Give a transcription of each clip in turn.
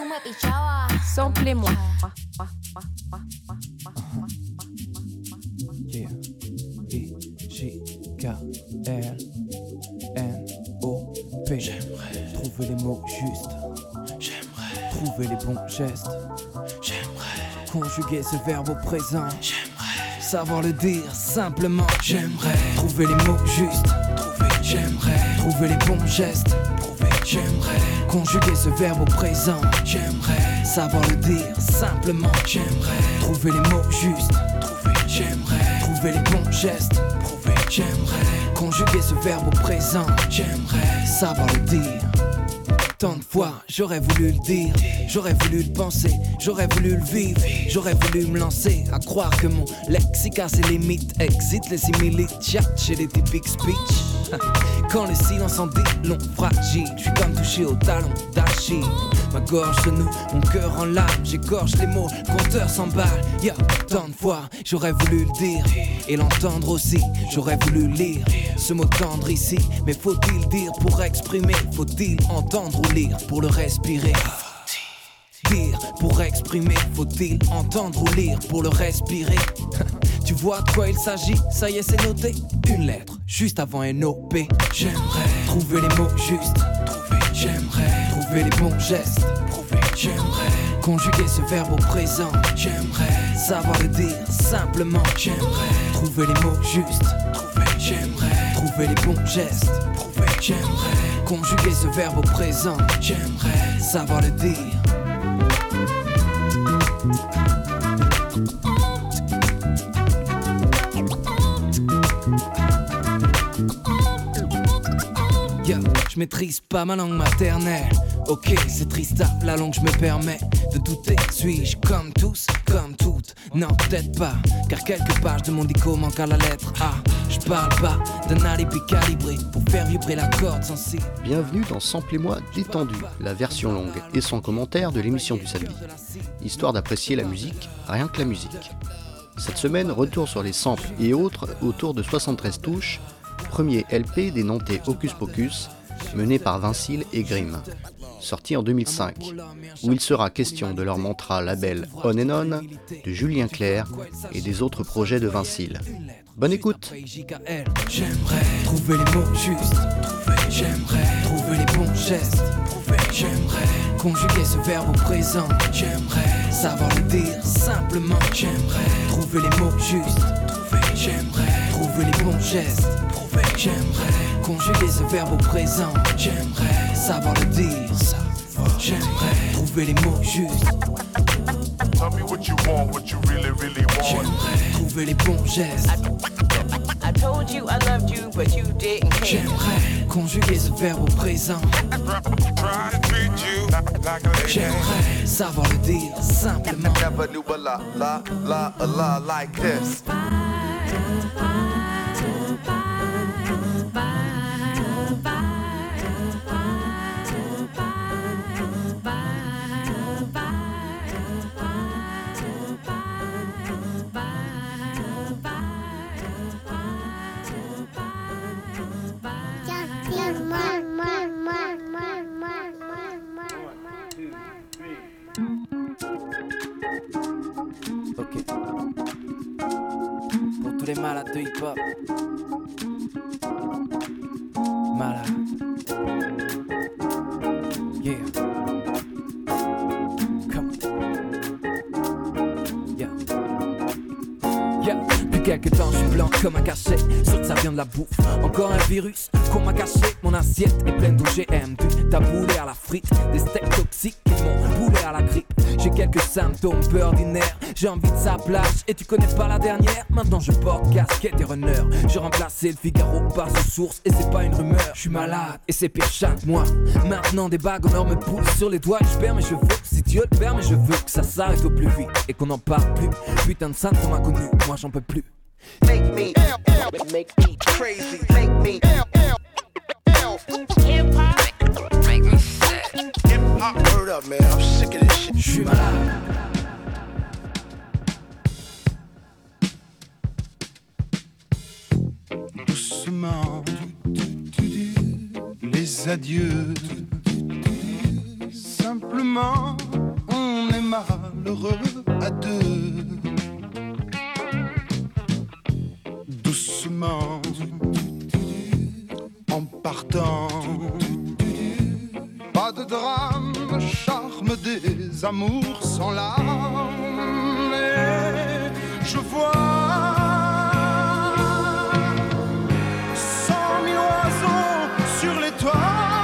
Samplez-moi. Yeah. I-J-K-L-N-O-P. J'aimerais trouver les mots justes. J'aimerais trouver les bons gestes. J'aimerais conjuguer ce verbe au présent. J'aimerais savoir le dire simplement. J'aimerais trouver les mots justes. J'aimerais trouver les bons gestes. J'aimerais conjuguer ce verbe au présent. J'aimerais savoir le dire simplement. J'aimerais trouver les mots justes. J'aimerais trouver les bons gestes. J'aimerais conjuguer ce verbe au présent. J'aimerais savoir le dire. Tant de fois j'aurais voulu le dire, j'aurais voulu le penser, j'aurais voulu le vivre, j'aurais voulu me lancer à croire que mon lexique a ses limites, excite les similites, chat chez les typiques speech. Quand le silence en dit long, fragile, je suis comme touché au talon d'Achille. Ma gorge se noue, mon cœur en larmes, j'égorge les mots, le compteur s'emballe. Yeah, tant de fois j'aurais voulu le dire et l'entendre aussi, j'aurais voulu lire ce mot tendre ici. Mais faut-il dire pour exprimer, faut-il entendre ou lire pour le respirer? Dire pour exprimer, faut-il entendre ou lire pour le respirer? Tu vois de quoi il s'agit, ça y est c'est noté. Une lettre, juste avant N-O-P. J'aimerais trouver les mots justes. J'aimerais trouver les bons gestes. J'aimerais conjuguer ce verbe au présent. J'aimerais savoir le dire simplement. J'aimerais trouver les mots justes. J'aimerais trouver les bons gestes. J'aimerais conjuguer ce verbe au présent. J'aimerais savoir le dire. Je maîtrise pas ma langue maternelle. Ok, c'est triste, la langue je me permets de douter. Suis-je comme tous, comme toutes? Non, peut-être pas, car quelques pages de mon dico manquent à la lettre A. Je parle pas d'un alibi calibré pour faire vibrer la corde sensible. Bienvenue dans Samplez-moi détendu, la version longue et sans commentaire de l'émission du samedi. Histoire d'apprécier la musique, rien que la musique. Cette semaine, retour sur les samples et autres autour de 73 touches, premier LP des Nantais Hocus Pocus, mené par Vincile et Grimm, sorti en 2005, où il sera question de leur mantra label On and On, de Julien Clerc et des autres projets de Vincile. Bonne écoute. J'aimerais trouver les mots justes. J'aimerais trouver les bons gestes. J'aimerais conjuguer ce verbe au présent. J'aimerais savoir le dire simplement. J'aimerais trouver les mots justes. J'aimerais trouver les bons gestes. J'aimerais conjuguer ce verbe au présent. J'aimerais savoir le dire. J'aimerais trouver les mots justes. Tell me what you want, what you really, really want. J'aimerais trouver les bons gestes. I told you I loved you, but you didn't care. J'aimerais conjuguer ce verbe au présent. Try to treat you like a lady. J'aimerais savoir le dire simplement. Never knew a la like this. Ok. Pour tous les malades de hip-hop. Malade. Yeah. Come. Yeah. Yeah. Depuis quelques temps, je suis blanc comme un cachet. Sûr que ça vient de la bouffe. Encore un virus qu'on m'a caché. Mon assiette est pleine d'OGM. Du taboulé à la frite. Des steaks toxiques qui m'ont boulé à la grippe. J'ai quelques symptômes peu ordinaires. J'ai envie de sa plage et tu connais pas la dernière. Maintenant je porte casquette et runner. J'ai remplacé le Figaro par ce source et c'est pas une rumeur. Je suis malade et c'est pire chaque mois. Maintenant des bagues en or me poussent sur les doigts. Je perds mes cheveux, si Dieu le permet je veux que ça s'arrête au plus vite et qu'on en parle plus. Putain de sainte qu'on m'a connu, moi j'en peux plus. Make me crazy. Make me Hip-hop, make me sad. hip-hop. Word up, man. I'm sick of this shit. Je suis malade. Doucement, les adieux, simplement malheureux à deux. Doucement, en partant, pas de drame, charme des amours sans larmes. Et je vois 100 000 oiseaux sur les toits.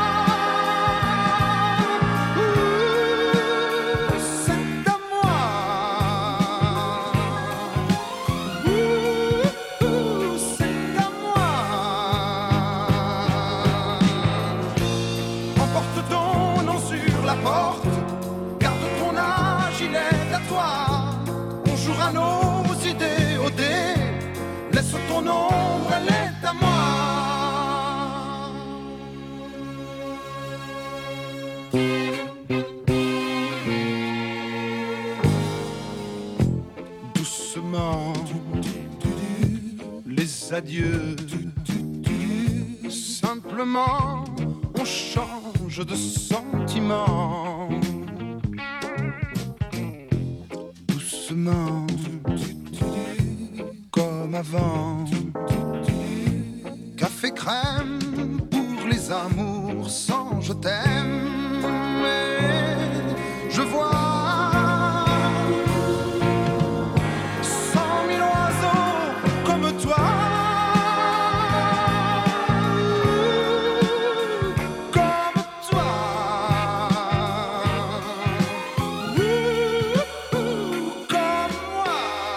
Ton ombre, elle est à moi. Doucement, les adieux. Simplement, on change de sentiment. Doucement, comme avant. Café crème pour les amours sans je t'aime. Et je vois 100 000 oiseaux comme toi. Comme toi. Comme moi.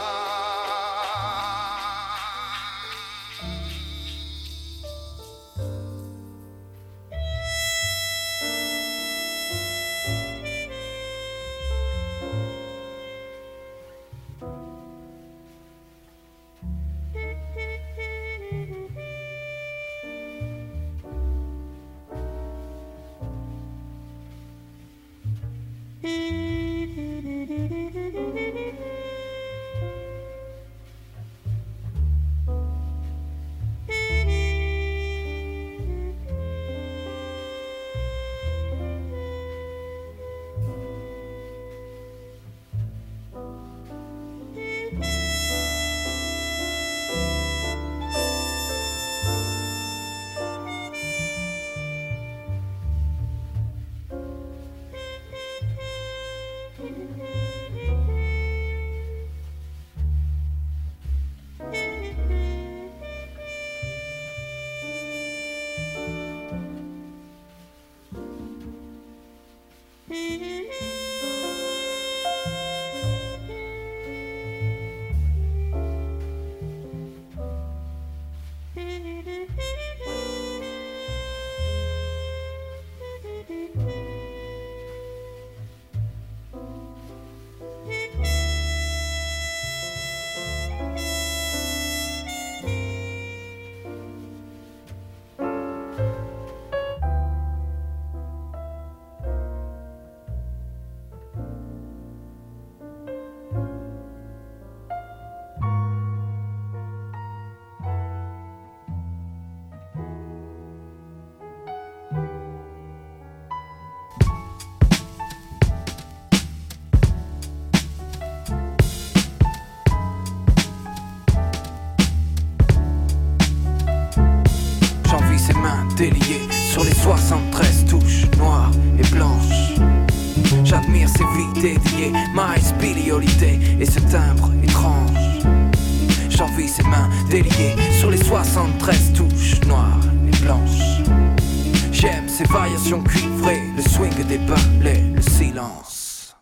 Délié sur les 73 touches noires et blanches. J'admire ces vies dédiées, ma spécialité et ce timbre étrange. J'envie ses mains déliées sur les 73 touches noires et blanches. J'aime ces variations cuivrées, le swing des balais, le silence.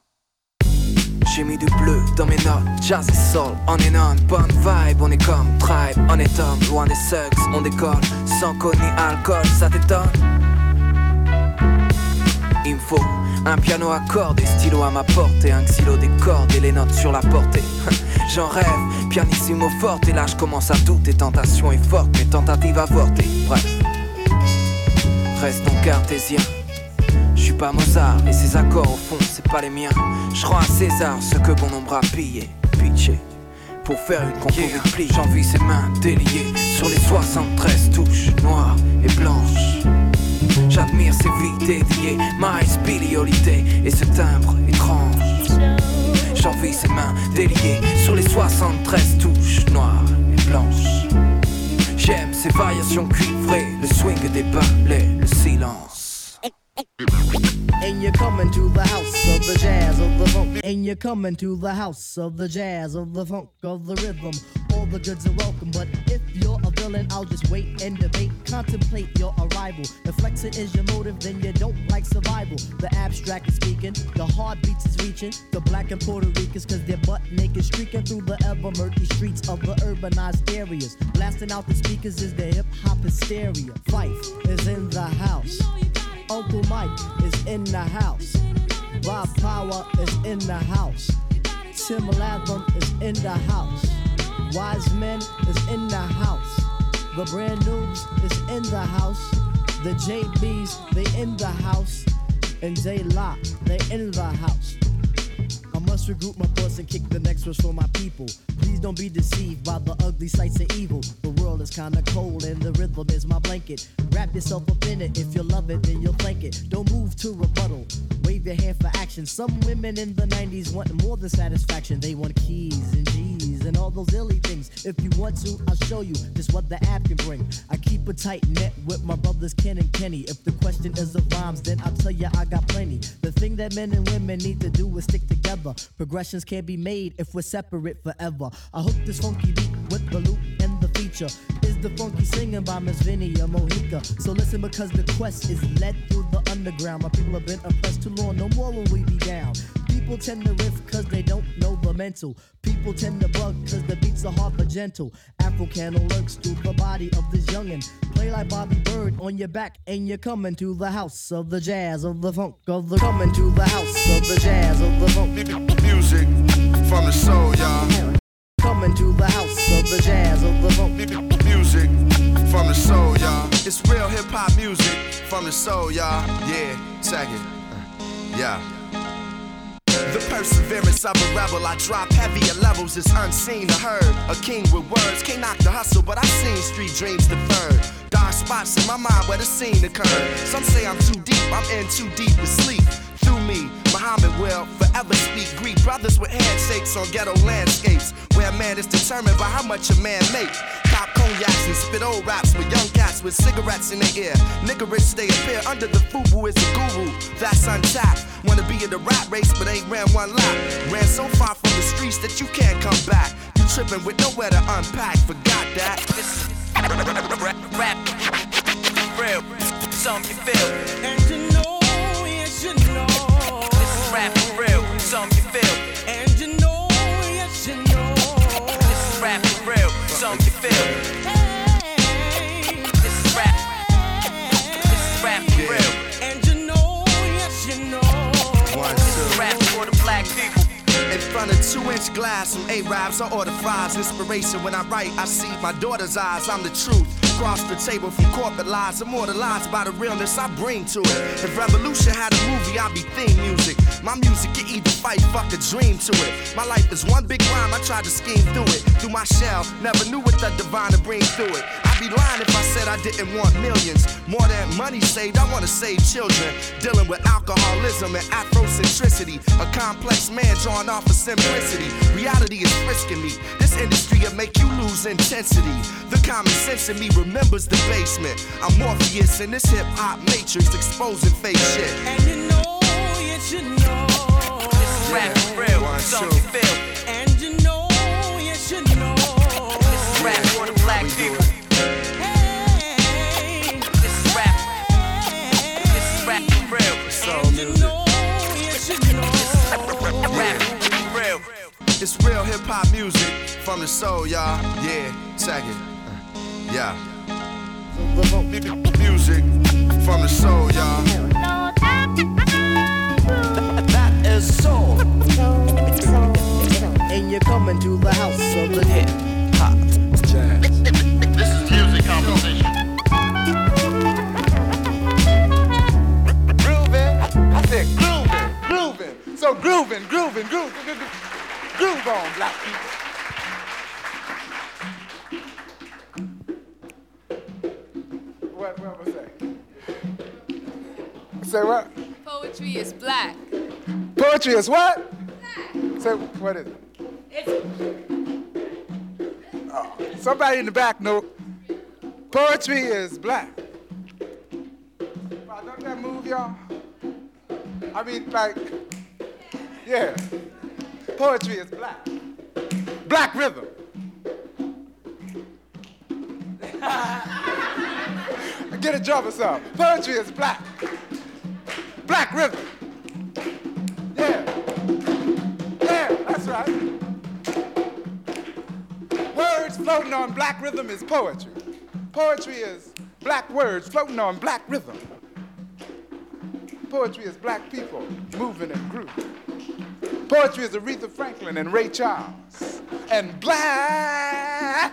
J'ai mis du bleu dans mes notes, jazz et soul, on est non, bonne vibe, on est comme tribe, on est homme, loin des sucks, on décolle, sans code ni alcool, ça t'étonne? Il me faut un piano à cordes et stylo à ma portée, un xylo des cordes et les notes sur la portée. J'en rêve, pianissimo forte, et là je commence à douter, tentation est forte, mes tentatives avortées, bref. Restons cartésiens. Je suis pas Mozart et ses accords au fond c'est pas les miens. Je rends à César ce que bon nombre a pillé, pitché. Pour faire une compo de pli, j'envie ses mains déliées sur les 73 touches noires et blanches. J'admire ses vies dédiées, ma spécialité et ce timbre étrange. j'envie ses mains déliées sur les 73 touches noires et blanches. J'aime ces variations cuivrées, le swing des balais, le silence. And you're coming to the house of the jazz of the funk. And you're coming to the house of the jazz of the funk of the rhythm. All the goods are welcome, but if you're a villain, I'll just wait and debate. Contemplate your arrival. If flexing is your motive, then you don't like survival. The abstract is speaking, the heartbeats is reaching. The black and Puerto Ricans, cause they're butt naked, streaking through the ever murky streets of the urbanized areas. Blasting out the speakers is the hip hop hysteria. Fife is in the house. Uncle Mike is in the house. Rob Power is in the house. Tim Latham is in the house. Wise Men is in the house. The Brand Noobs is in the house. The JBs, they in the house. And J Lock, they in the house. I must regroup my thoughts and kick the next verse for my people. Please don't be deceived by the ugly sights of evil. The world is kinda cold and the rhythm is my blanket. Wrap yourself up in it. If you love it, then you'll thank it. Don't move to rebuttal. Wave your hand for action. Some women in the 90s want more than satisfaction. They want keys and G's and all those illy things. If you want to, I'll show you just what the app can bring. I keep a tight net with my brothers Ken and Kenny. If the question is of rhymes, then I'll tell you I got plenty. The thing that men and women need to do is stick together. Progressions can't be made if we're separate forever. I hook this funky beat with the loop and the feature is the funky singing by Miss Vinny or Mohica. So listen, because the quest is led through the underground. My people have been oppressed too long, no more will we be down. People tend to riff cause they don't know the mental. People tend to bug cause the beats are hard but gentle. Afro-Cano lurks through the body of this youngin'. Play like Bobby Bird on your back and you're coming to the house of the jazz of the funk of the coming to the house of the jazz of the funk. Music from the soul, y'all. Coming to the house of the jazz of the funk. Music from the soul, y'all. It's real hip hop music from the soul, y'all. Yeah, check it. Yeah. The perseverance of a rebel, I drop heavier levels, it's unseen or heard. A king with words, can't knock the hustle, but I've seen street dreams deferred. Dark spots in my mind where the scene occurred. Some say I'm too deep, I'm in too deep to sleep. Through me, Muhammad will forever speak. Greet brothers with handshakes on ghetto landscapes, where a man is determined by how much a man makes. Pop cognacs and spit old raps with young cats with cigarettes in their ear. Niggerish they appear under the FUBU is a guru, that's untapped. Wanna be in the rat race but ain't ran one lap. Ran so far from the streets that you can't come back. You tripping with nowhere to unpack, forgot that. This rap, real, something you feel. And you know, yes you know. This is rap for real, something you feel. And you know, yes you know. This is rap for real, something you feel. This is rap. This is rap for real. And you know, yes you know. This is rap for the black people. In front of 2-inch glass, some Arabs, I order fries. Inspiration when I write, I see my daughter's eyes. I'm the truth. Across the table from corporate lies, immortalized by the realness I bring to it. If Revolution had a movie, I'd be theme music. My music can either fight, fuck a dream to it. My life is one big rhyme, I tried to scheme through it. Through my shell, never knew what the divine to bring through it. I'd be lying if I said I didn't want millions. More than money saved, I wanna save children. Dealing with alcoholism and Afrocentricity. A complex man drawn off of simplicity. Reality is frisking me. This industry will make you lose intensity. The common sense in me remembers the basement. I'm Morpheus in this hip-hop matrix, exposing fake shit. And you know, yes you know. This is rap for real, something you feel. And you know, yes you know. This is rap for the black people. Hey, This is rap. This is rap for real. and you know, yes you know. Rap for real. It's real hip-hop music from the soul, y'all. Yeah, check it. Yeah. Music from the soul, y'all. That is soul. And you're coming to the house of the hip hop jazz. This is music composition. Grooving. I said grooving. So grooving. Groove on, black people. What was that? Say what? Poetry is black. Poetry is what? So, what is it? Oh, somebody in the back know. Poetry is black. Wow, don't that move, y'all? I mean, like, yeah. Poetry is black. Black rhythm. Get a jump or something. Poetry is black. Black rhythm. Yeah. Yeah, that's right. Words floating on black rhythm is poetry. Poetry is black words floating on black rhythm. Poetry is black people moving and grooving. Poetry is Aretha Franklin and Ray Charles. And black.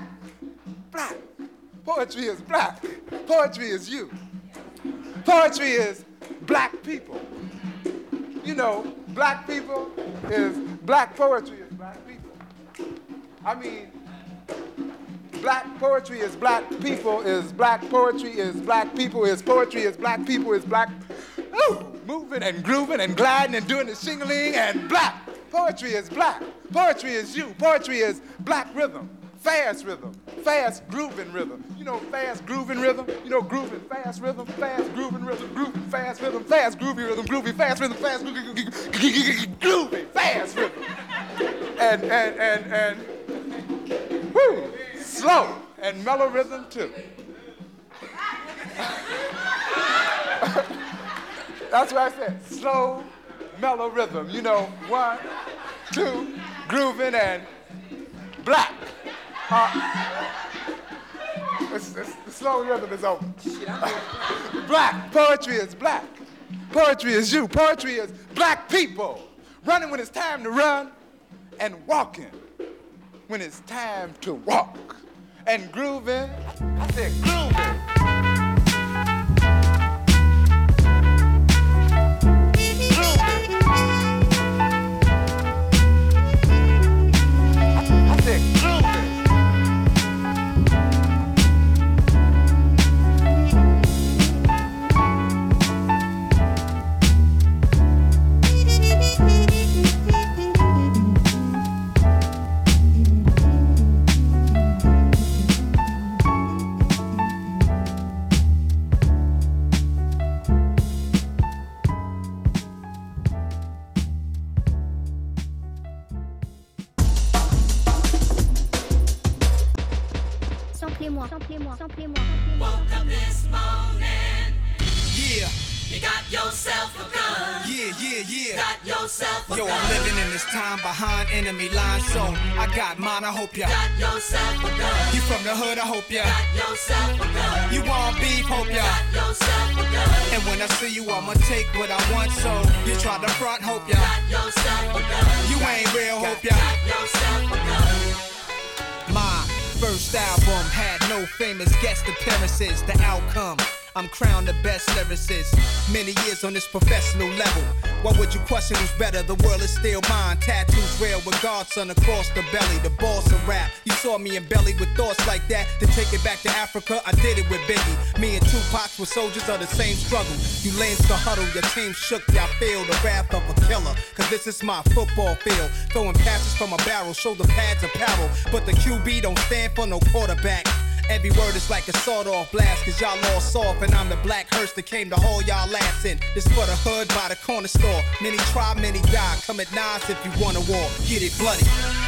Poetry is black. Poetry is you. Poetry is black people. You know, black people is black poetry is black people. I mean, black poetry is black people is black poetry is black people is poetry is black people is black. Ooh, moving and grooving and gliding and doing the shingling and black. Poetry is black. Poetry is you. Poetry is black rhythm. Fast rhythm, fast grooving rhythm. You know fast grooving rhythm? You know grooving fast rhythm, fast grooving rhythm, grooving fast rhythm, fast groovy rhythm, groovy fast rhythm, fast groovy fast rhythm. And woo, slow and mellow rhythm too. That's what I said, slow, mellow rhythm. You know, 1, 2, grooving and black. The slow rhythm is over. Black. Poetry is black. Poetry is you. Poetry is black people. Running when it's time to run and walking when it's time to walk. And grooving. I said grooving. Woke up this morning. Yeah. You got yourself a gun. Yeah. Got yourself a gun. Yo, I'm living in this time behind enemy lines, so I got mine, I hope ya. Got yourself a gun. You from the hood, I hope ya. Got yourself a gun. You want beef, hope ya. Got yourself a gun. And when I see you, I'ma take what I want, so you try to front, hope ya. Got yourself a gun. You ain't real, hope ya. Got yourself a gun. My first album had no famous guest appearances. The outcome, I'm crowned the best lyricist. Many years on this professional level. Why would you question who's better? The world is still mine. Tattoos real with Godson across the belly. The boss of rap. You saw me in belly with thoughts like that. To take it back to Africa, I did it with Biggie. Me and Tupac were soldiers of the same struggle. You lanes to huddle, your team shook. Y'all feel the wrath of a killer. Cause this is my football field. Throwing passes from a barrel, shoulder pads apparel. But the QB don't stand for no quarterback. Every word is like a sawed-off blast, cause y'all all soft, and I'm the black hearse that came to haul y'all ass in. This for the hood by the corner store. Many try, many die. Come at nines if you want a war. Get it bloody.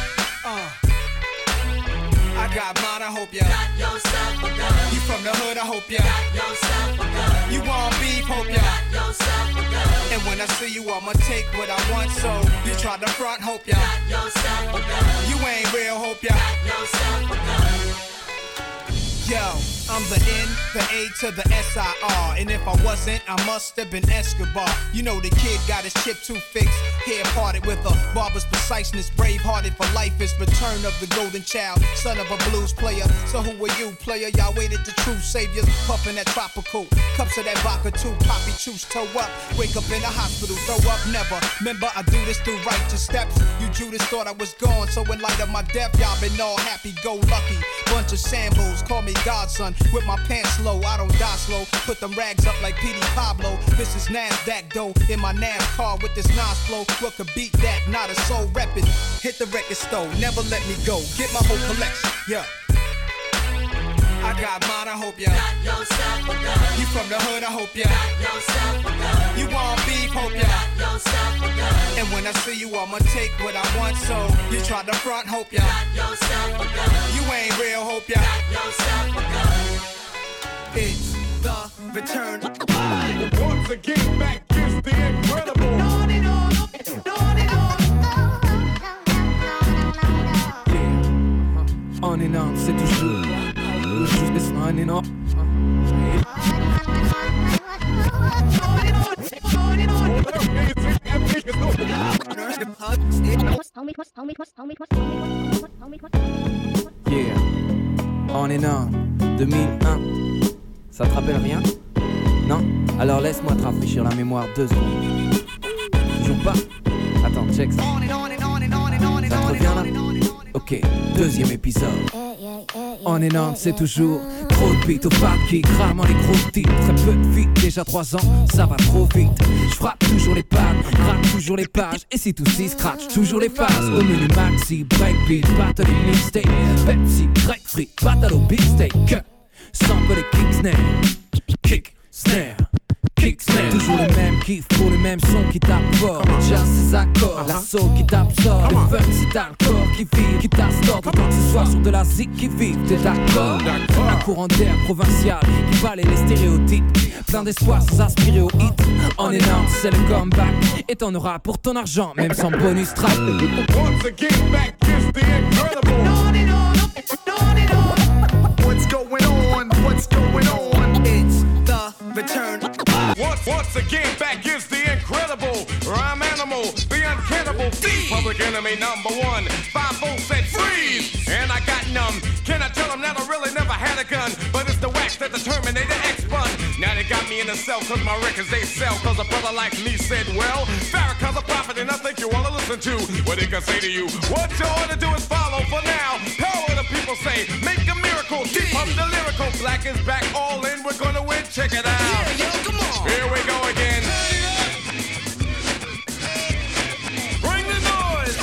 I got mine, I hope ya. Got yourself a gun. You from the hood, I hope ya. Got yourself a gun. You want beef, hope ya. Got yourself a gun. And when I see you, I'ma take what I want, so you try to front, hope ya. Got yourself a gun. You ain't real, hope ya. Got yourself a gun. Yo, I'm the N, the A to the S-I-R. And if I wasn't, I must have been Escobar. You know the kid got his chip too fixed. Hair parted with a barber's preciseness. Brave-hearted for life is return of the golden child. Son of a blues player. So who are you, player? Y'all waited the true saviors. Puffin' that tropical. Cups of that vodka too. Poppy choose toe up. Wake up in the hospital, throw up never. Remember, I do this through righteous steps. You Judas thought I was gone. So in light of my death, y'all been all happy-go-lucky. Bunch of Sambos, call me godson. With my pants low, I don't die slow. Put them rags up like P.D. Pablo. This is NASDAQ dough in my NASCAR with this Nas flow. What could beat that? Not a soul reppin'. Hit the record store, never let me go. Get my whole collection, yeah. I got mine, I hope ya got yourself a gun. You from the hood, I hope ya got yourself a gun. You want beef, hope ya got yourself a gun. And when I see you, I'ma take what I want. So you try to front, hope ya got yourself a gun. You ain't real, hope ya got yourself a gun. It's the return. Once again, back is the incredible. On and on, c'est toujours juste on and on. Yeah, on and on, 2001. Ça te rappelle rien? Non? Alors laisse-moi te rafraîchir la mémoire 2 secondes. Toujours pas? Attends, check ça. Ça te revient là? Ok, deuxième épisode. On and on, c'est toujours trop de beats au pack qui crament les gros titres. Très peu de feat, déjà 3 ans, ça va trop vite. Je frappe toujours les pads, gratte toujours les pages. Et si tout s'y scratch, toujours les phases. Au menu maxi, breakbeat, battle et mixtape. Pepsi, grapefruit, battle au big steak. Sample les kick snare, kick snare. Toujours les mêmes kiffs pour les mêmes sons qui tapent fort. Jazz ses accords, la soul qui t'absorbe. Le funk si t'as le corps qui vibre, qui t'astorde. Autant que ce soit sur de la zik qui vibre, t'es d'accord? Un courant d'air provincial qui balaye les stéréotypes. Plein d'espoir sans aspirer au hit. On est non, c'est le comeback. Et t'en auras pour ton argent, même sans bonus track. Once again, back is the incredible. What's going on? What's going on? It's the return. Once again, back is the incredible rhyme animal, the uncannibal thief. Public enemy #1. 5-0 said freeze, and I got numb. Can I tell them that I really never had a gun? But it's the wax that the Terminator X-spun. Now they got me in the cell cause my records they sell. Cause a brother like me said, well, Farrakhan's a prophet and I think you wanna listen to what he can say to you. What you ought to do is follow for now. Power the people say, make a miracle. Deep up the lyrical, black is back, all in, we're gonna win, check it out. Yeah, yo, come on. Here we go again. Bring the noise.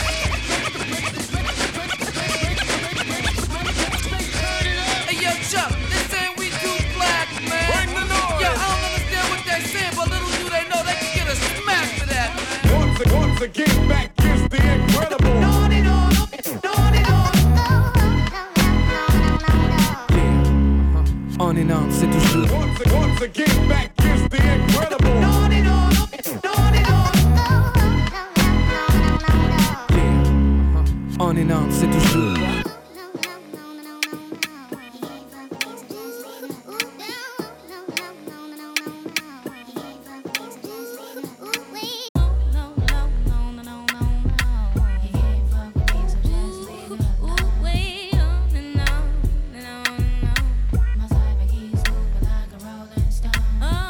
Hey, yo, Chuck, this ain't we too black, man. Bring the noise. Yo, I don't understand what they're saying, but little do they know they can get a smack for that, man. Once again, back is the incredible. On and on, c'est toujours. Once again, back is the incredible. On and on, c'est toujours. My cyber keys move like a rolling stone.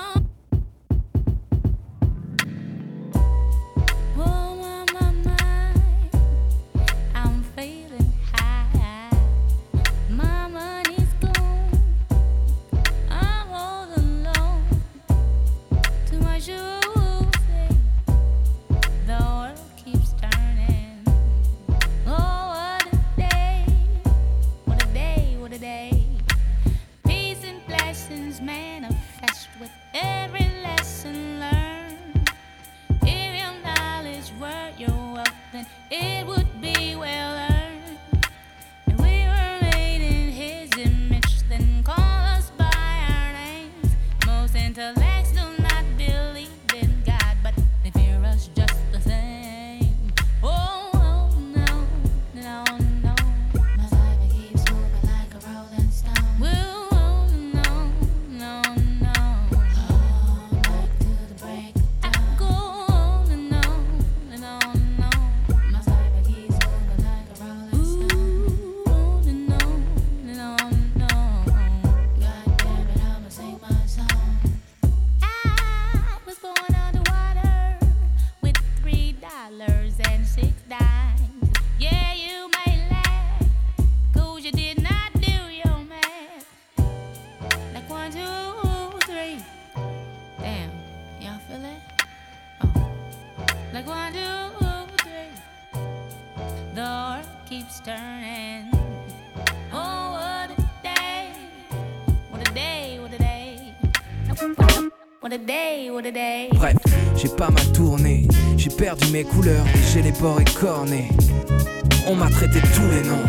what a day, what a day. Bref, j'ai pas mal tourné, j'ai perdu mes couleurs et j'ai les bords écornés. On m'a traité tous les noms.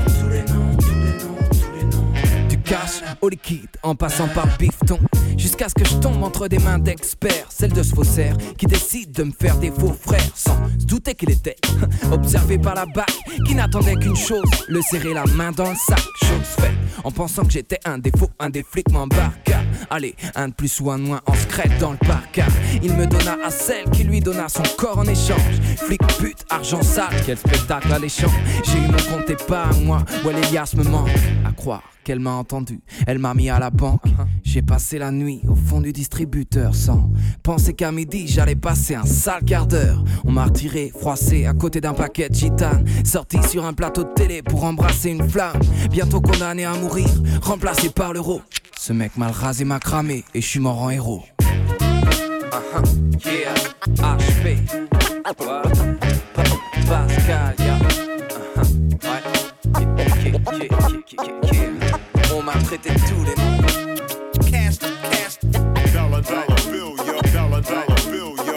Du cash au liquide, en passant par le bifton. Jusqu'à ce que je tombe entre des mains d'experts, celle de ce faussaire qui décide de me faire des faux frères. Sans se douter qu'il était observé par la BAC, qui n'attendait qu'une chose, le serrer la main dans le sac. Chose faite, en pensant que j'étais un défaut, un des flics m'embarqua. Allez, un de plus ou un de moins en secrète dans le parc. Il me donna à celle qui lui donna son corps en échange. Flic, pute, argent sale, quel spectacle alléchant. J'ai eu mon compte et pas à moi, ouais l'Elias me manque. À croire qu'elle m'a entendu, elle m'a mis à la banque. J'ai passé la nuit au fond du distributeur sans penser qu'à midi j'allais passer un sale quart d'heure. On m'a retiré, froissé à côté d'un paquet de gitane, sorti sur un plateau de télé pour embrasser une flamme. Bientôt condamné à mourir, remplacé par l'euro. Ce mec mal rasé m'a cramé et je suis mort en héros. Yeah, HP, Pascal, yeah. On m'a traité tous les noms. Cash, dollar bill, yo, dollar bill, yo.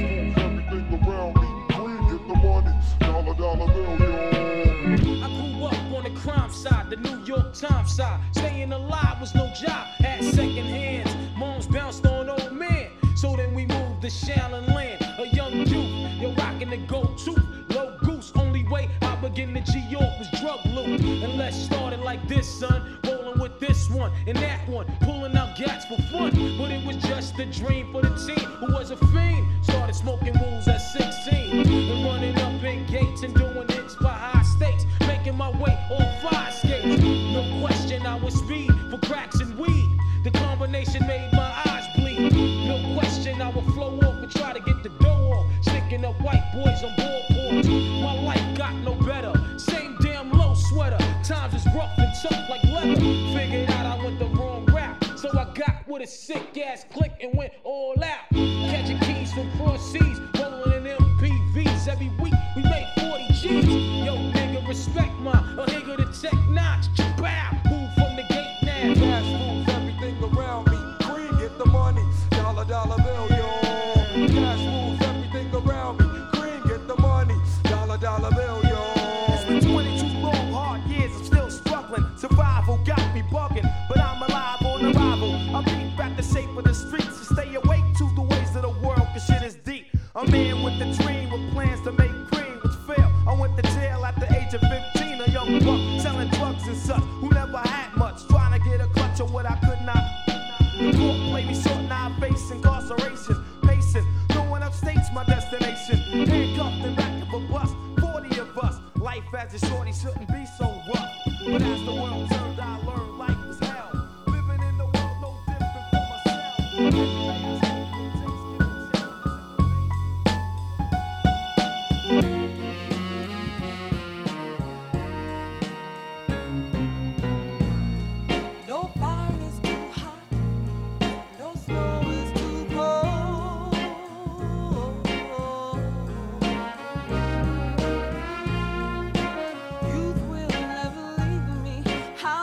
I grew up on the crime side, the New York Times side. Staying alive was no job, had second hands. Moms bounced on old men, so then we moved to Shaolin Land. A young youth, you're rocking the gold tooth, low goose. Only way I begin to G-York was drug loot. And let's start it like this, son. Rolling with this one and that one, pulling out gats for fun. But it was just a dream for the team who was a fiend. Started smoking wools at 16 and running up in gates and doing hits by high stakes, making my way on 5 skates. No question I was speed for cracks and weed. The combination made my eyes bleed. No question I would flow off and try to get the dough off, sticking up white boys on boardboards. My life got no better, same damn low sweater. Times is rough and tough like leather. Figured out I went the wrong route, so I got with a sick ass click and went all out. Catching keys from cross seas, rolling in MPVs. Every week we made 40 G's. Yo nigga, respect my a nigga to tech notch. Bow, move from the gate now. Cash moves everything around me. Green, get the money, dollar bill, yo. Cash moves everything around me. Green, get the money, dollar bill, yo. It's been 22 long, hard years, I'm still struggling. Survival got me bugging, but I'm alive on arrival. I beat back the shape of the streets and stay awake to the ways of the world, cause shit is deep. A man with a dream, with plans to make cream, which failed. I went to jail at the age of 15, a young buck selling drugs and such, who never had much, trying to get a clutch of what I could not. The court played me short, now I face incarceration. Pacing, going upstate's my destination. Handcuffed and back of a bus, 40 of us. Life as a shorty shouldn't be so rough. But as the world turned, I learned life was hell. Living in the world no different from myself. No fire is too hot, no snow is too cold. Youth will never leave me.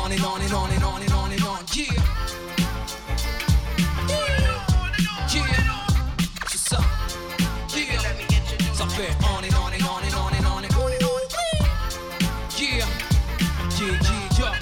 on and on and on and on and on and on. Yeah. Yeah. C'est ça. Yeah. Ça fait on and on and on and on and on and on and on. Yeah. Yeah, yeah,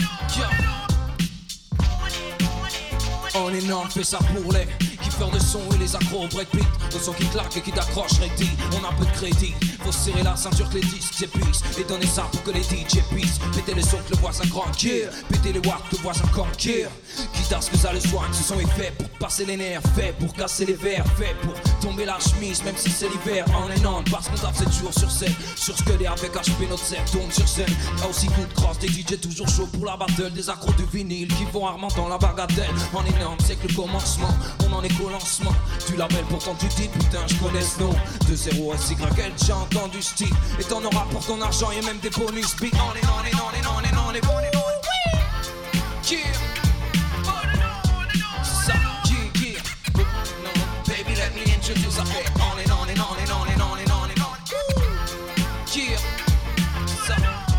yeah. On and on, fait ça pour les kiffeurs de son et les accros au breakbeat. Le son qui claque et qui t'accroche, ready. On a peu de crédit. Faut serrer la ceinture que les disques s'épuisent et donner ça pour que les DJ puissent péter les sons que le voisin cranquille, péter les watts que le voisin conquille. Quitte à ce que ça le soigne, ce son est fait pour passer les nerfs, fait pour casser les verres, fait pour tomber la chemise même si c'est l'hiver. On est non, parce qu'on tape 7 jours sur scène. Sur ce que les avec HP notre set tourne sur scène. Y'a aussi coup de crosse, des DJ toujours chauds pour la battle. Des accros de vinyle qui vont rarement dans la bagatelle. On est non, c'est que le commencement, on en est qu'au lancement du label. Pourtant tu dis putain je connais ce nom. De 0 à SYL, j'ai entendu ce style. Et t'en auras pour ton argent et même des bonus. Be on and on and on and on and on and on and on. Yeah. C'est ça, yeah, yeah. Baby let me introduce. I feel on and on and on and on and on and on and on. Yeah. C'est ça.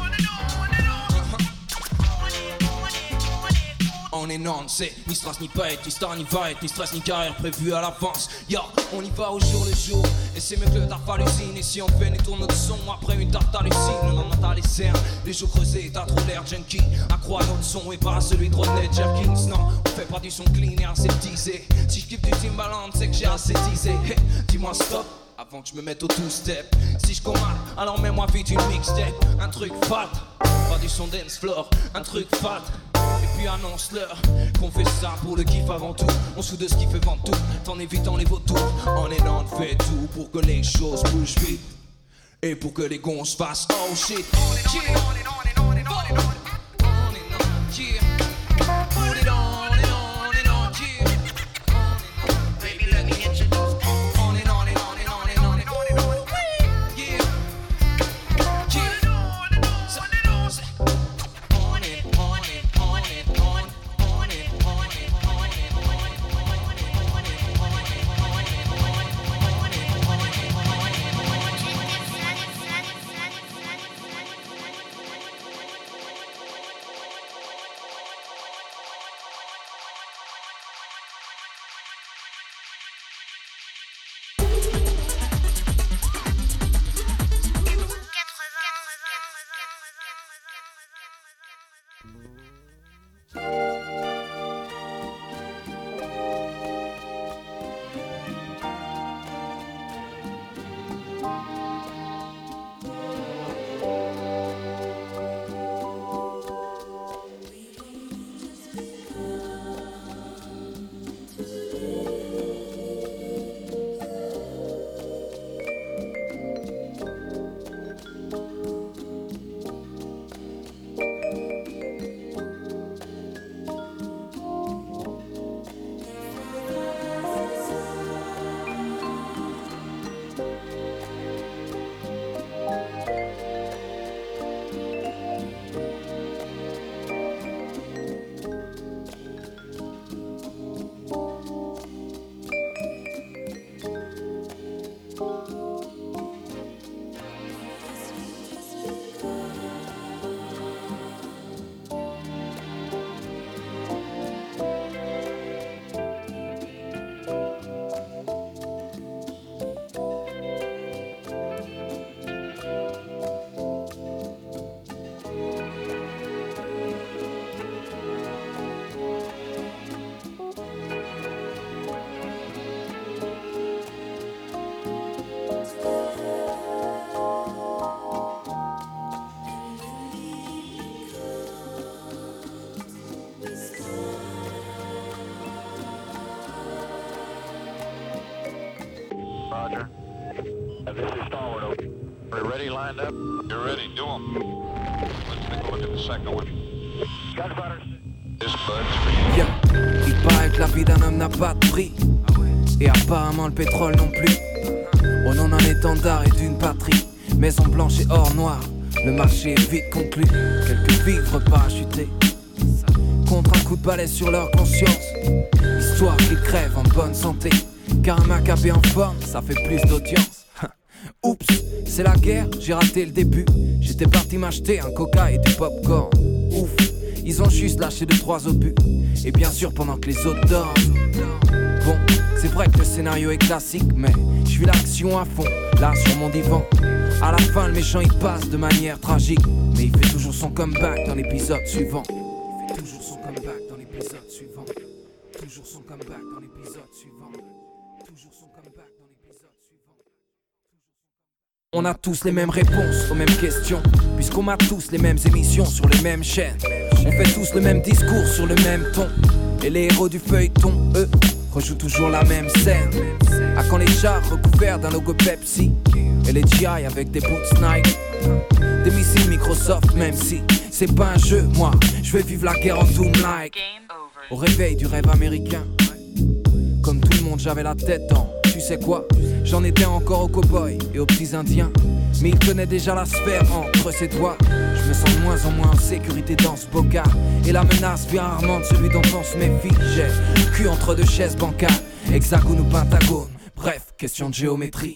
On est non, c'est ni strass ni paillettes, ni star ni vaillette, ni stress ni carrière prévue à l'avance. Yo, on y va au jour le jour, et c'est mieux que le taf hallucine. Et si on fait, tourne notre son après une tarte hallucine. Le lendemain t'as les cernes, les jours creusés, t'as trop l'air junkie. Accroît notre son et pas celui de Rodney Jerkins. Non, on fait pas du son clean et aseptisé. Si je kiffe du Timbaland, c'est que j'ai aseptisé. Hey, dis-moi stop avant que je me mette au two-step. Si je commande, alors mets-moi vite une mixtape. Un truc fat, pas du son dance floor. Un truc fat. Et puis annonce-leur qu'on fait ça pour le kiff avant tout. On se fout de ce qui fait vendre tout, en évitant les vautours. On est dans le fait tout pour que les choses bougent vite. Et pour que les gonzes fassent oh shit. On est on est on est on est on est on est on yeah. Put it on and on and on yeah. Baby let me introduce. On est on est on est on est on est on est on yeah. Roger. This is Starwood. We're ready, lined up? You're ready, do them. Let's take a look at the second one. Gunfighters. This bud's for you. Yeah. Il paraît que la vie d'un homme n'a pas de prix. Et apparemment le pétrole non plus. Au nom d'un étendard et d'une patrie. Maison blanche et or noir. Le marché est vite conclu. Quelques vivres parachutés contre un coup de balai sur leur conscience. Histoire qu'ils crèvent en bonne santé. Car un macabé en forme, ça fait plus d'audience. Oups, c'est la guerre, j'ai raté le début. J'étais parti m'acheter un coca et du popcorn. Ouf, Ils ont juste lâché 2-3 obus. Et bien sûr pendant que les autres dorment. Bon, c'est vrai que le scénario est classique, mais je vis l'action à fond, là sur mon divan. À la fin le méchant il passe de manière tragique, mais il fait toujours son comeback dans l'épisode suivant. Il fait toujours son comeback dans l'épisode suivant. Toujours son comeback dans l'épisode suivant. Toujours son comeback dans l'épisode suivant. On a tous les mêmes réponses aux mêmes questions, puisqu'on a tous les mêmes émissions sur les mêmes chaînes. On fait tous le même discours sur le même ton. Et les héros du feuilleton, eux, rejouent toujours la même scène. À quand les chars recouverts d'un logo Pepsi, et les GI avec des boots Nike, des missiles Microsoft, même si c'est pas un jeu, moi je vais vivre la guerre en Doom-like. Au réveil du rêve américain, comme tout le monde j'avais la tête en, tu sais quoi, j'en étais encore aux cow-boys et aux petits indiens, mais il tenait déjà la sphère entre ses doigts. Je me sens de moins en moins en sécurité dans ce bocal, et la menace vient rarement de celui dont on se méfie. J'ai le cul entre deux chaises bancales, hexagone ou pentagone, bref, question de géométrie.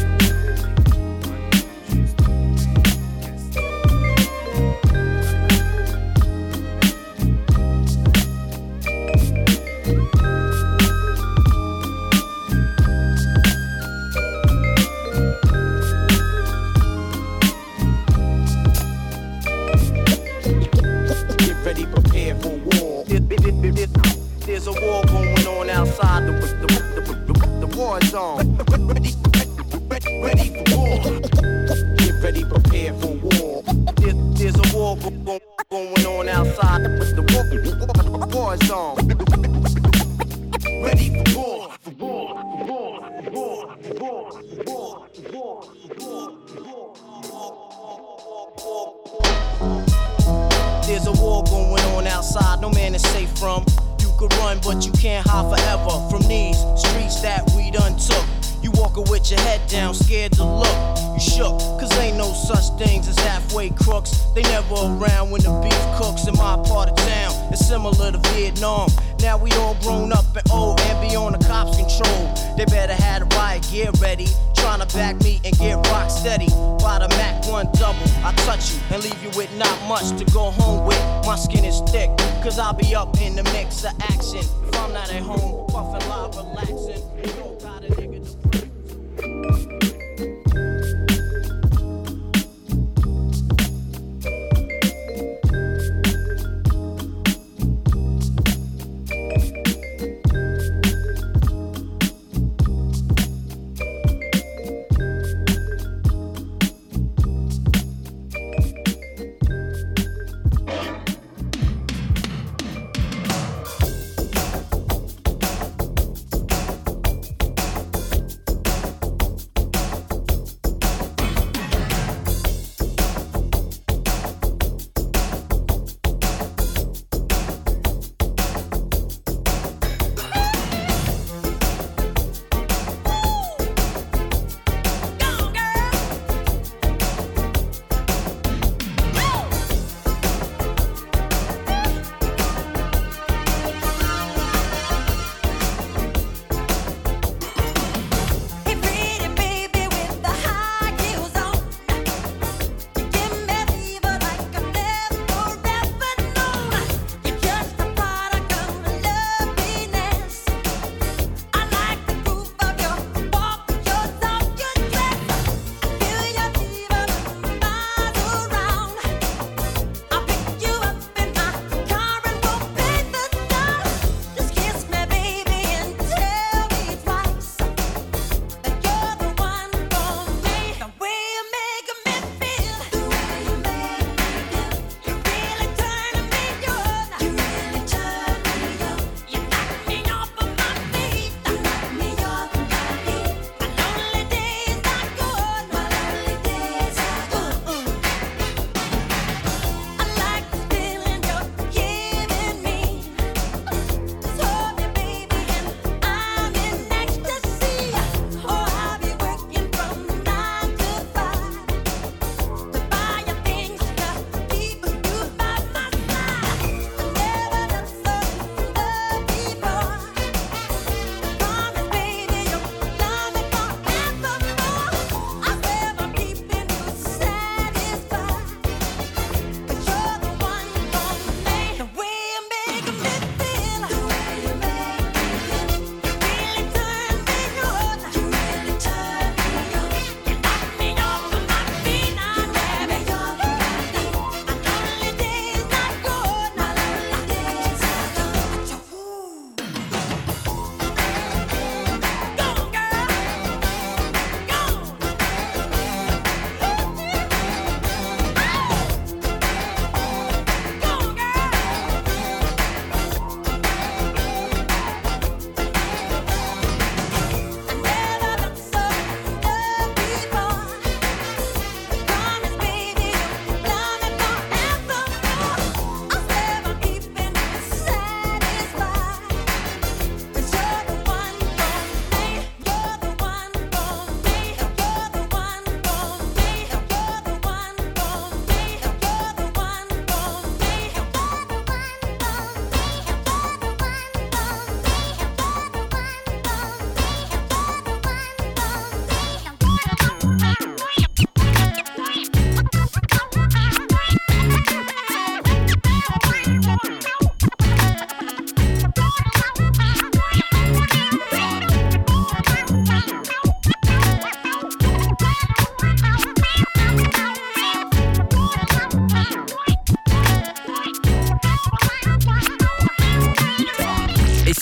There's a war going on outside the war zone. Ready for war. Get ready, prepare for war. There's a war going on outside the war zone. Ready for war. There's a war going on outside, no man is safe from. You could run, but you can't hide forever from these streets that we done took. You walking with your head down, scared to look. You shook, cause ain't no such things as halfway crooks. They never around when the beef cooks in my part of town. It's similar to Vietnam. Now we all grown up and old and be on the cops' control. They better have the riot gear ready. Trying to back me and get rock steady. By the Mac 1 double, I touch you and leave you with not much to go home with. My skin is thick, cause I'll be up in the mix of action. If I'm not at home, puffin' live, relaxing. You don't got a nigga to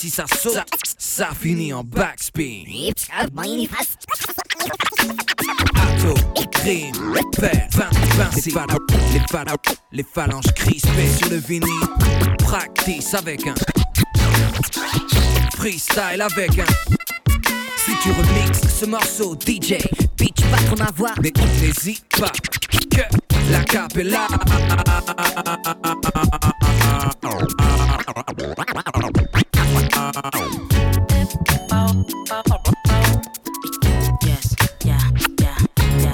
si ça saute, ça finit en backspin. Ato, crime, père, les phalanges crispées sur le vinyle. Practice avec un freestyle avec un. Si tu remixes ce morceau, DJ, pitch pas ton avoir. Mais n'hésite pas que la capella. Yes, yeah, yeah, yeah.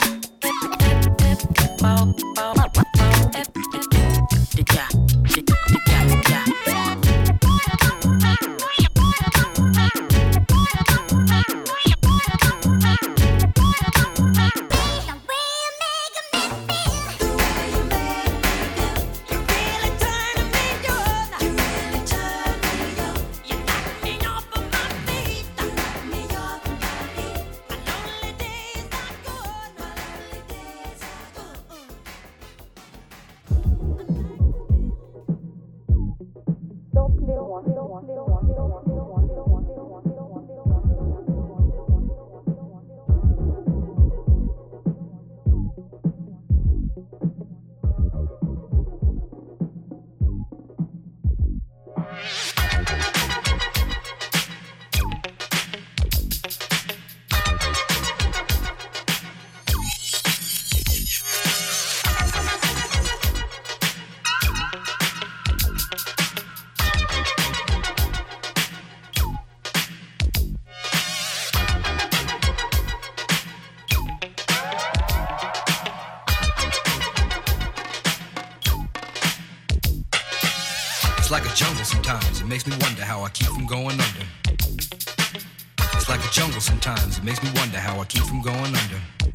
like a jungle sometimes. It makes me wonder how I keep from going under. It's like a jungle sometimes. It makes me wonder how I keep from going under.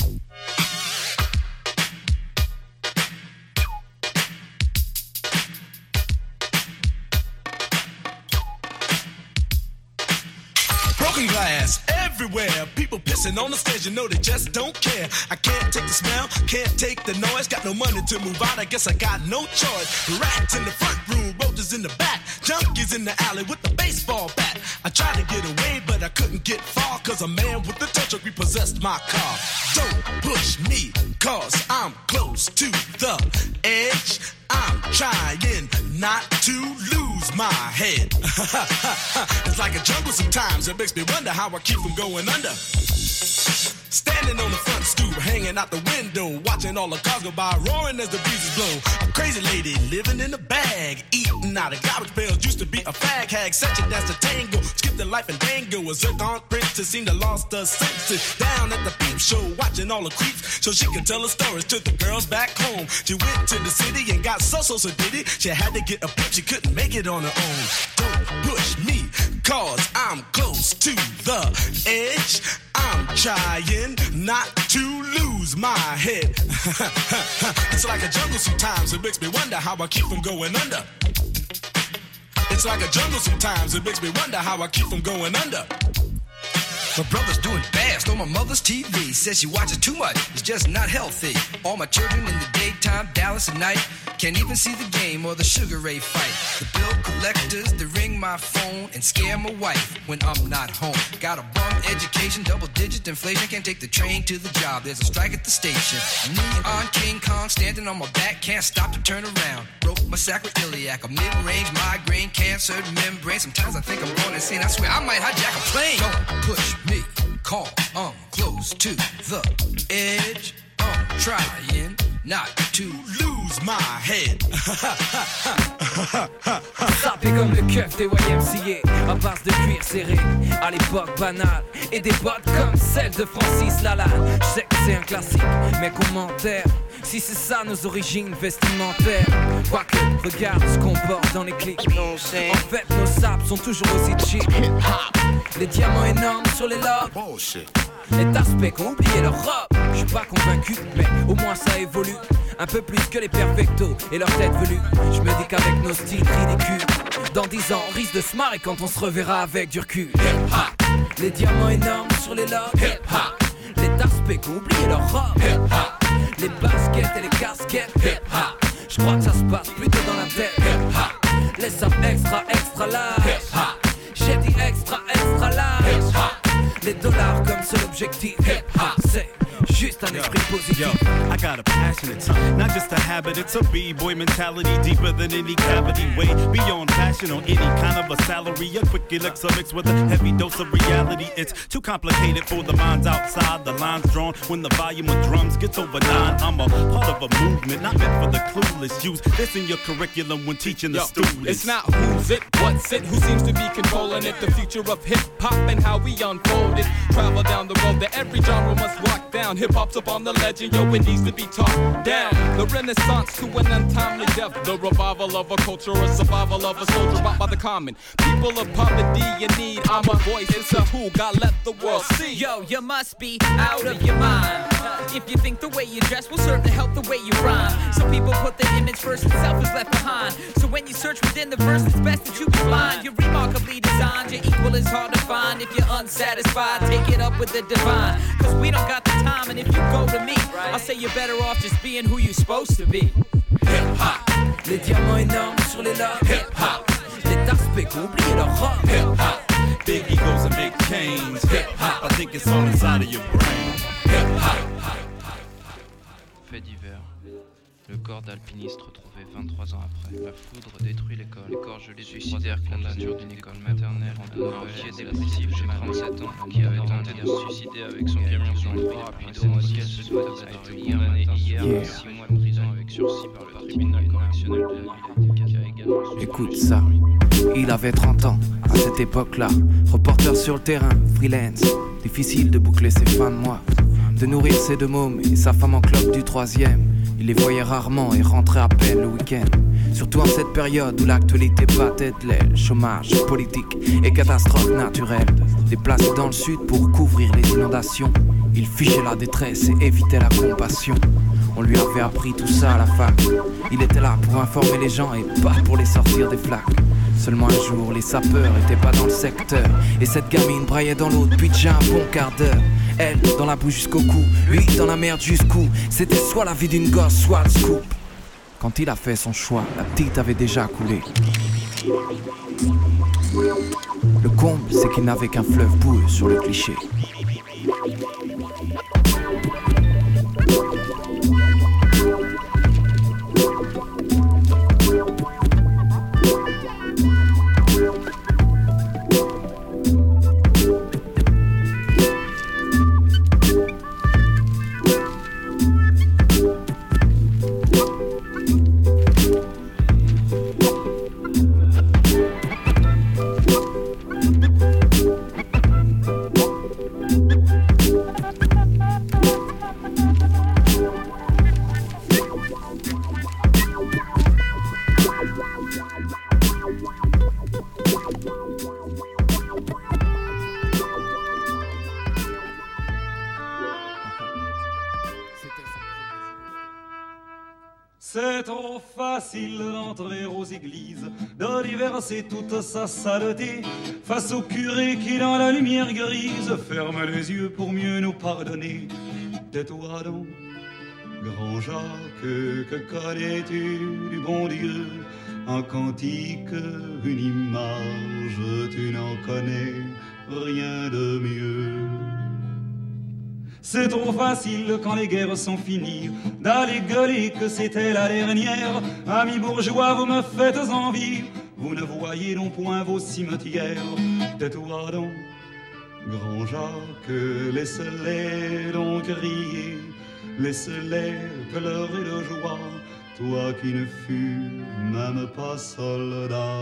Broken glass everywhere, people pissing on the stage, you know they just don't care. I can't take the smell, can't take the noise, got no money to move out, I guess I got no choice. Rats in the front room, roaches in the back, junkies in the alley with the baseball bat. I tried to get away, but I couldn't get far, cause a man with a tow truck repossessed my car. Don't push me, cause I'm close to the edge. I'm trying not to lose my head. It's like a jungle sometimes, it makes me wonder how I keep from going under. Standing on the front stoop, hanging out the window, watching all the cars go by, roaring as the breezes blow. A crazy lady living in a bag, eating out of garbage pails, used to be a fag hag, such a dance to tango, skipped the life and dango, a zircon princess seemed to lost her senses. Down at the peep show, watching all the creeps, so she could tell her stories to the girls back home. She went to the city and got so did it. She had to get a pimp, she couldn't make it on her own. Don't push me, cause I'm close to the edge. I'm trying not to lose my head. It's like a jungle sometimes, it makes me wonder how I keep from going under. It's like a jungle sometimes, it makes me wonder how I keep from going under. My brother's doing bad, stole my mother's TV. Says she watches too much, it's just not healthy. All my children in the daytime, Dallas at night. Can't even see the game or the Sugar Ray fight. The bill collectors, they ring my phone and scare my wife when I'm not home. Got a bum education, double-digit inflation. Can't take the train to the job, there's a strike at the station. Neon King Kong standing on my back, can't stop to turn around. Broke my sacroiliac, a mid-range migraine, cancer membrane. Sometimes I think I'm going insane, I swear I might hijack a plane. Don't push me, call, I'm close to the edge. I'm trying not to lose my head. Sapé comme le keuf des YMCA, à base de cuir serré, à l'époque banale, et des bottes comme celles de Francis Lalanne. Je sais que c'est un classique, mais commentaire, si c'est ça nos origines vestimentaires. Quoique, regarde ce qu'on porte dans les clips. En fait, nos sables sont toujours aussi cheap. Les diamants énormes sur les lobes. Les taspects qui ont oublié leur robe. Je suis pas convaincu, mais au moins ça évolue. Un peu plus que les perfectos et leur tête velue. Je me dis qu'avec nos styles ridicules, dans 10 ans on risque de se marrer quand on se reverra avec du recul. Hip-hop. Les diamants énormes sur les lobes. Hip-hop. Les taspects qui ont oublié leur robe. Hip-hop. Les baskets et les casquettes. Hip-hop. Je crois que ça se passe plutôt dans la tête. Hip-hop. Les sapes extra large. Hip-hop. J'ai dit objectif. Hip-hop, c'est juste un esprit positif. Yo, I got a passionate tongue, not just a habit, it's a b-boy mentality deeper than any cavity. Way beyond passion on any kind of a salary. A quick elixir mixed with a heavy dose of reality. It's too complicated for the minds outside. The lines drawn when the volume of drums gets over 9. I'm a part of a movement, not meant for the clueless. Use this in your curriculum when teaching the students. It's not who's it, what's it, who seems to be controlling it. The future of hip-hop and how we unfold it. Travel down the road that every genre must walk down. Hip-hop's up on the legend, yo, it needs to be talked down. The renaissance to an untimely death. The revival of a culture, a survival of a soldier bought by the common people of poverty in need. I'm a voice, it's a tool, God let the world see. Yo, you must be out of your mind if you think the way you dress will serve to help the way you rhyme. Some people put their image first and self is left behind. So when you search within the verse, it's best that you be blind. You're remarkably designed, your equal is hard to find. If you're unsatisfied, take it up with the divine. Cause we don't got the time, and if you go to me, I'll say you're better off just being who you're supposed to be. Hip-hop, les diamants énormes sur les lobes. Hip-hop, les Dark qui ont oublié leur robe. Hip-hop, big egos and big chains. Hip-hop, I think it's all inside of your brain. Hip-hop. Fait divers. Le corps d'alpiniste retrouvé 23 ans après. La foudre détruit l'école. Les corps gelés suicidaires condamnés d'une école maternelle en donnant un pied dépressif de 37 ans qui avait tenté de se suicider avec son camion sur le toit rapido auquel se doit a été condamné hier à 6 mois de prison avec sursis par le tribunal correctionnel de la ville qui a également... Écoute ça, il avait 30 ans à cette époque-là. Reporter sur le terrain, freelance. Difficile de boucler ses fins de mois, de nourrir ses deux mômes et sa femme en clope du 3e. Il les voyait rarement et rentrait à peine le week-end. Surtout en cette période où l'actualité battait de l'aile. Chômage, politique et catastrophes naturelles. Déplacé dans le sud pour couvrir les inondations. Il fichait la détresse et évitait la compassion. On lui avait appris tout ça à la fac. Il était là pour informer les gens et pas pour les sortir des flaques. Seulement un jour, les sapeurs étaient pas dans le secteur. Et cette gamine braillait dans l'eau depuis déjà un bon quart d'heure. Elle, dans la boue jusqu'au cou, lui, dans la merde jusqu'où. C'était soit la vie d'une gosse, soit le scoop. Quand il a fait son choix, la petite avait déjà coulé. Le comble, c'est qu'il n'avait qu'un fleuve boueux sur le cliché. C'est trop facile d'entrer aux églises, de déverser toute sa saleté face au curé qui dans la lumière grise ferme les yeux pour mieux nous pardonner. Tais-toi donc, grand Jacques, que connais-tu du bon Dieu? Un cantique, une image, tu n'en connais rien de mieux. C'est trop facile quand les guerres sont finies d'aller gueuler que c'était la dernière. Amis bourgeois, vous me faites envie, vous ne voyez donc point vos cimetières. Tais-toi donc, grand Jacques, laisse-les donc crier, laisse-les pleurer de joie, toi qui ne fus même pas soldat.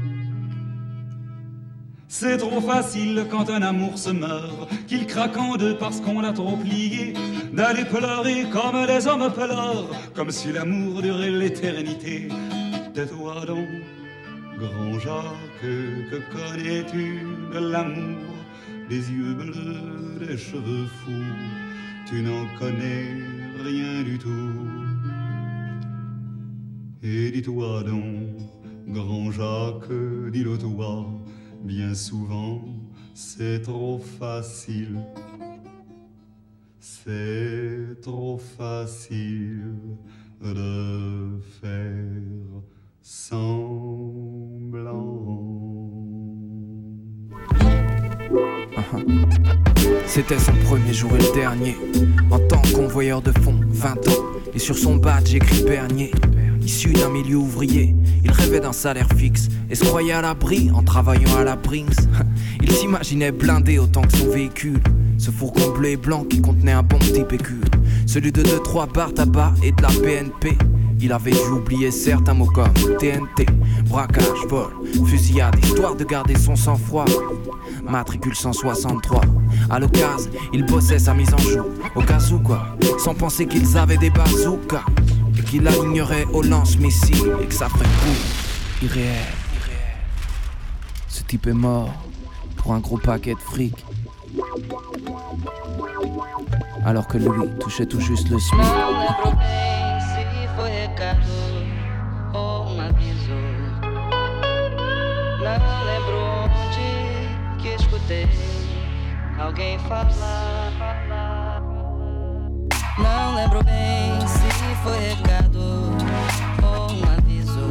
C'est trop facile quand un amour se meurt, qu'il craque en deux parce qu'on l'a trop plié, d'aller pleurer comme les hommes pleurent, comme si l'amour durait l'éternité. Tais-toi donc, grand Jacques, que connais-tu de l'amour? Des yeux bleus, des cheveux fous, tu n'en connais rien du tout. Et dis-toi donc, grand Jacques, dis-le toi, bien souvent, c'est trop facile. C'est trop facile de faire semblant. C'était son premier jour et le dernier. En tant que convoyeur de fonds, 20 ans. Et sur son badge écrit Bernier. Issu d'un milieu ouvrier, il rêvait d'un salaire fixe et se croyait à l'abri en travaillant à la Brinks. Il s'imaginait blindé autant que son véhicule, ce fourgon bleu et blanc qui contenait un bon petit pécule. Celui de 2-3 barres tabac et de la BNP. Il avait dû oublier certains mots comme TNT, braquage, vol, fusillade, histoire de garder son sang-froid. Matricule 163. À l'occasion, il bossait sa mise en joue, au cas où quoi, sans penser qu'ils avaient des bazookas et qu'il alignerait au lance-missiles et que ça ferait coup irréel. Ce type est mort pour un gros paquet de fric, alors que lui touchait tout juste le SMIC. Foi recado ou aviso. Não lembro onde que escutei alguém falar. Não lembro bem se foi recado ou aviso.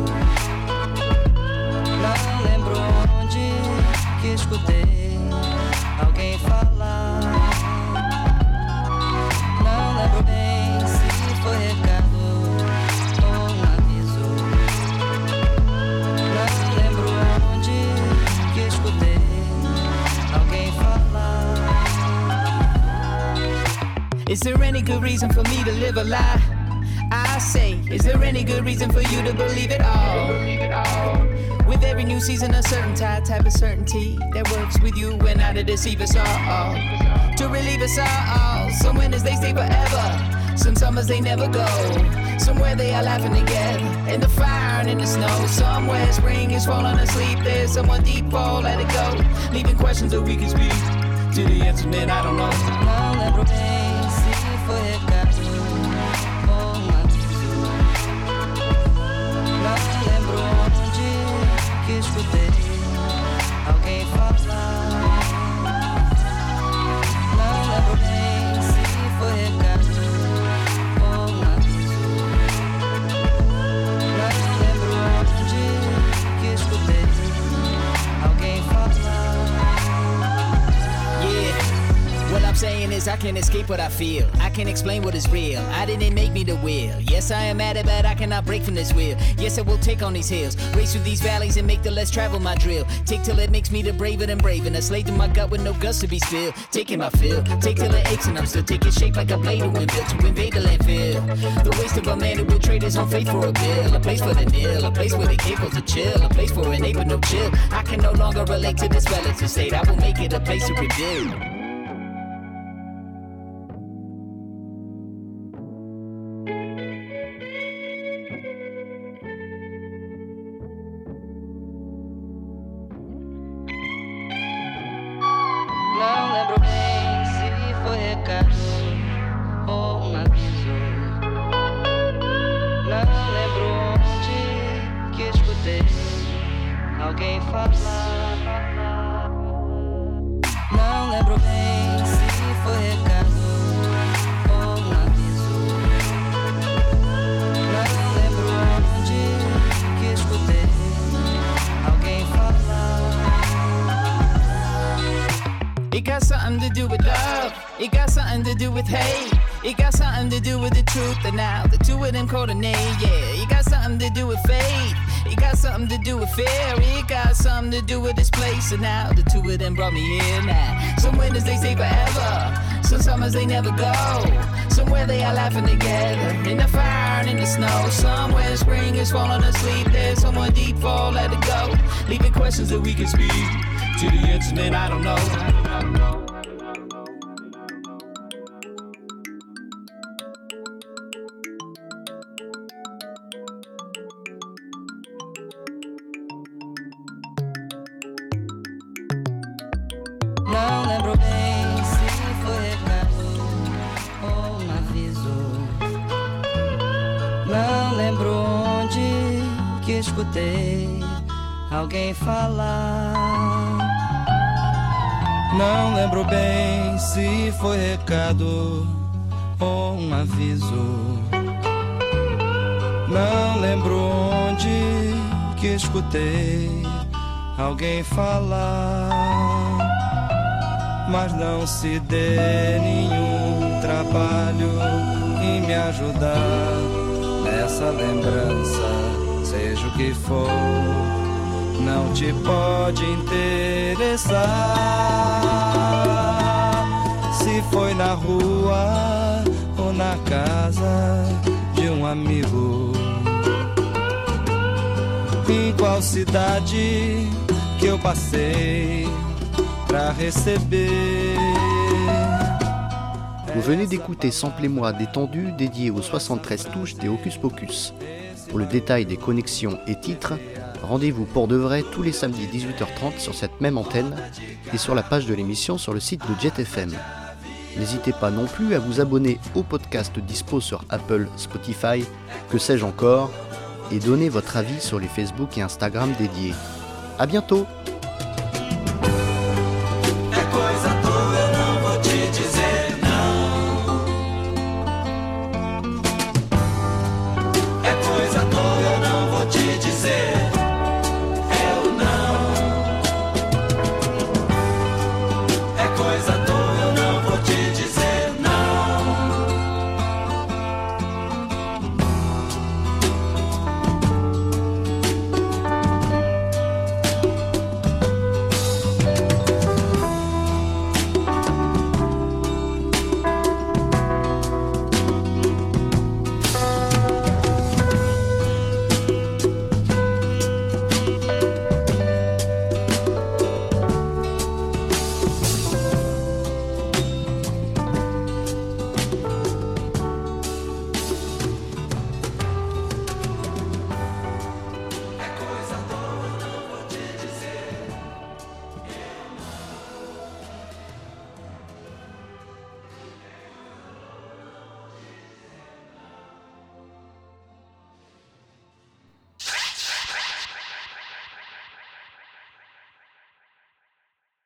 Não lembro onde que escutei alguém falar. Não lembro bem se foi recado. Is there any good reason for me to live a lie? I say, is there any good reason for you to believe it all? With every new season, a certain type of certainty that works with you and not to deceive us all. To relieve us all. Some winters they stay forever, some summers they never go. Somewhere they are laughing together, in the fire and in the snow. Somewhere spring is falling asleep, there's someone deep, oh let it go. Leaving questions that we can speak to the answer that I don't know. Não lembro bem se foi recado ou aviso. Não lembro onde que escutei alguém falar. Não lembro bem se foi recado ou aviso. Não lembro onde que escutei alguém falar. What I'm saying is I can't escape what I feel. I can't explain what is real. I didn't make me the wheel. Yes, I am at it, but I cannot break from this wheel. Yes, I will take on these hills, race through these valleys and make the less travel my drill. Take till it makes me the braver than brave, and a slave to my gut with no guts to be spilled. Taking my fill, take till it aches and I'm still taking shape like a blade of wind built to invade the landfill. The waste of a man who will trade his own faith for a bill. A place for the nil, a place where they capable to chill. A place for a neighbor, no chill. I can no longer relate to this relative state. I will make it a place to rebuild. Não lembro bem se foi recado ou aviso. Não lembro onde que escutei alguém falar. Não lembro bem se foi recado ou aviso. Não lembro onde que escutei alguém falar. It got something to do with love. It got something to do with hate. It got something to do with the truth. And now the two of them coordinate. Yeah, it got something to do with faith. It got something to do with fear. It got something to do with this place. And now the two of them brought me here now. Some winters they stay forever, some summers they never go. Somewhere they are laughing together, in the fire and in the snow. Somewhere spring is falling asleep, there's someone deep, fall, let it go. Leaving questions that we can speak to the answer that I don't know. Não lembro bem se foi recado ou aviso. Não lembro onde que escutei alguém falar. Não lembro bem se foi recado ou aviso. Não lembro onde que escutei alguém falar. mas não se dê nenhum trabalho em me ajudar nessa lembrança, seja o que for, não te pode interessar. Se foi na rua ou na casa de um amigo, em qual cidade que eu passei pra receber. Vous venez d'écouter Samplez-moi détendu dédié aux 73 touches des Hocus Pocus. Pour le détail des connexions et titres, rendez-vous pour de vrai tous les samedis 18h30 sur cette même antenne et sur la page de l'émission sur le site de Jet FM. N'hésitez pas non plus à vous abonner au podcast dispo sur Apple, Spotify, que sais-je encore, et donner votre avis sur les Facebook et Instagram dédiés. À bientôt!